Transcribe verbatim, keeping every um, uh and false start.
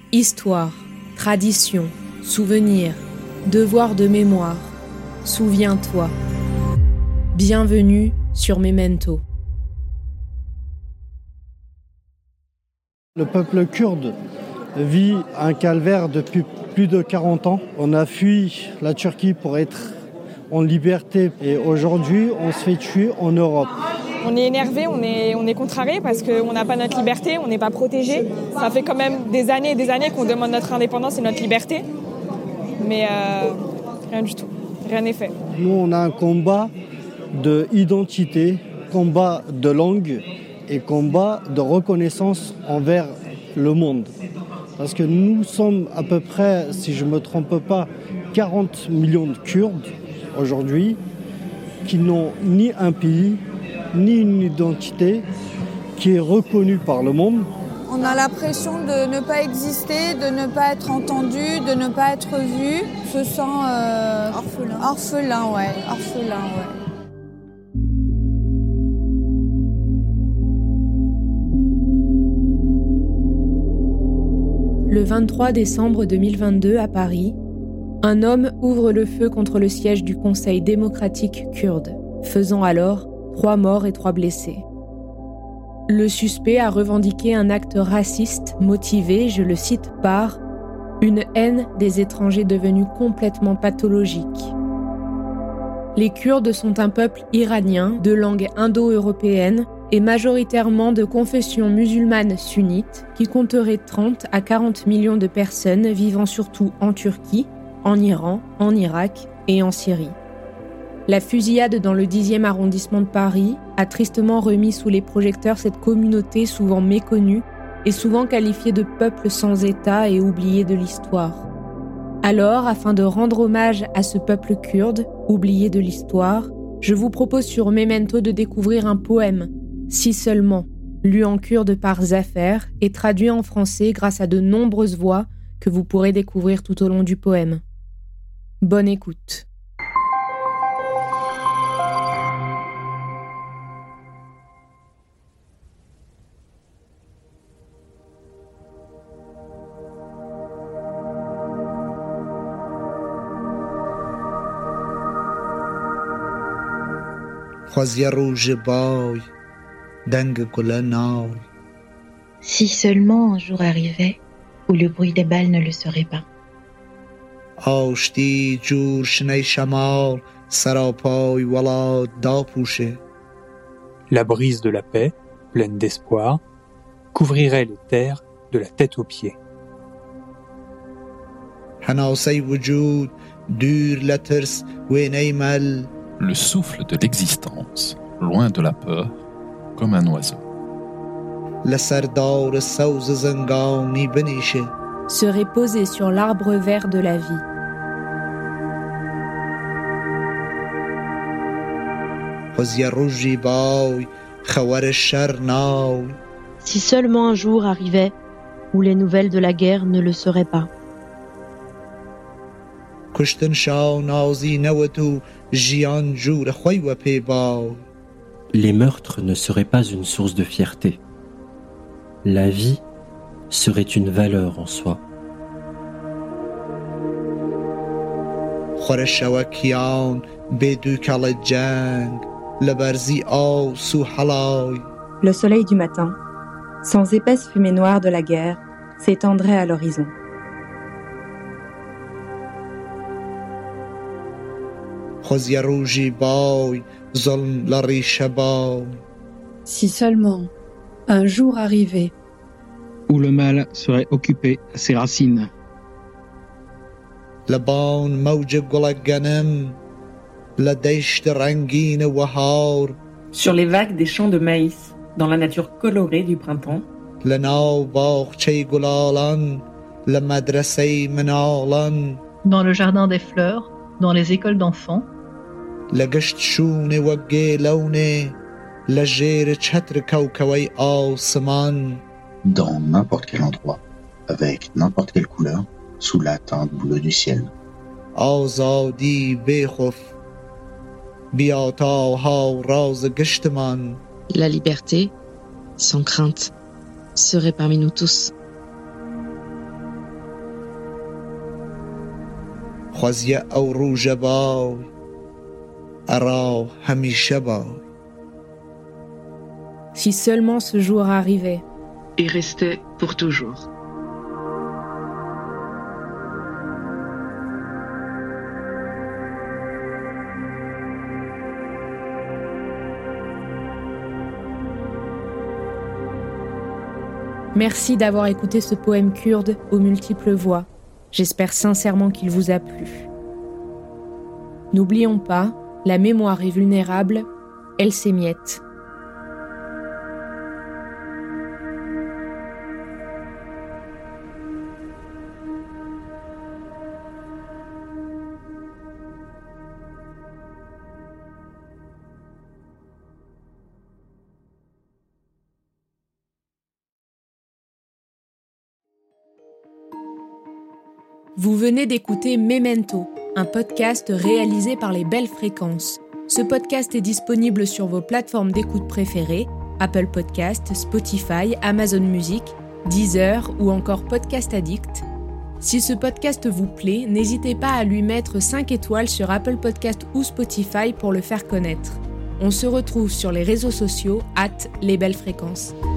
Histoire, tradition, souvenir, devoir de mémoire. Souviens-toi. Bienvenue sur Memento. Le peuple kurde vit un calvaire depuis plus de quarante ans. On a fui la Turquie pour être en liberté et aujourd'hui, on se fait tuer en Europe. On est énervé, on est, on est contrarié parce qu'on n'a pas notre liberté, on n'est pas protégé. Ça fait quand même des années et des années qu'on demande notre indépendance et notre liberté. Mais euh, rien du tout, rien n'est fait. Nous, on a un combat d'identité, combat de langue et combat de reconnaissance envers le monde. Parce que nous sommes à peu près, si je ne me trompe pas, quarante millions de Kurdes aujourd'hui qui n'ont ni un pays, ni une identité qui est reconnue par le monde. On a l'impression de ne pas exister, de ne pas être entendu, de ne pas être vu. On se sent euh, orphelin. Orphelin, ouais. Orphelin, ouais. Le vingt-trois décembre deux mille vingt-deux à Paris, un homme ouvre le feu contre le siège du Conseil démocratique kurde, faisant alors trois morts et trois blessés. Le suspect a revendiqué un acte raciste motivé, je le cite, par une haine des étrangers devenue complètement pathologique. Les Kurdes sont un peuple iranien de langue indo-européenne et majoritairement de confession musulmane sunnite qui compterait trente à quarante millions de personnes vivant surtout en Turquie, en Iran, en Irak et en Syrie. La fusillade dans le dixième arrondissement de Paris a tristement remis sous les projecteurs cette communauté souvent méconnue et souvent qualifiée de peuple sans État et oublié de l'histoire. Alors, afin de rendre hommage à ce peuple kurde, oublié de l'histoire, je vous propose sur Memento de découvrir un poème, Si seulement, lu en kurde par Zafer et traduit en français grâce à de nombreuses voix que vous pourrez découvrir tout au long du poème. Bonne écoute. Si seulement un jour arrivait où le bruit des balles ne le serait pas. La brise de la paix, pleine d'espoir, couvrirait les terres de la tête aux pieds. Le souffle de l'existence, loin de la peur, comme un oiseau. Serait posé sur l'arbre vert de la vie. Si seulement un jour arrivait où les nouvelles de la guerre ne le seraient pas. Les meurtres ne seraient pas une source de fierté. La vie serait une valeur en soi. Le soleil du matin, sans épaisse fumée noire de la guerre, s'étendrait à l'horizon. Si seulement un jour arrivait où le mal serait occupé à ses racines. Sur les vagues des champs de maïs, dans la nature colorée du printemps. Dans le jardin des fleurs, dans les écoles d'enfants. Dans n'importe quel endroit, avec n'importe quelle couleur, sous la teinte bleue du ciel. La liberté, sans crainte, serait parmi nous tous. خوازیە ئەو ڕوژە باو ئەڕاو هەمیشە باو. Si seulement ce jour arrivait. Et restait pour toujours. Merci d'avoir écouté ce poème kurde aux multiples voix. J'espère sincèrement qu'il vous a plu. N'oublions pas, la mémoire est vulnérable, elle s'émiette. Vous venez d'écouter Memento, un podcast réalisé par les Belles Fréquences. Ce podcast est disponible sur vos plateformes d'écoute préférées, Apple Podcast, Spotify, Amazon Music, Deezer ou encore Podcast Addict. Si ce podcast vous plaît, n'hésitez pas à lui mettre cinq étoiles sur Apple Podcast ou Spotify pour le faire connaître. On se retrouve sur les réseaux sociaux arobase les belles fréquences.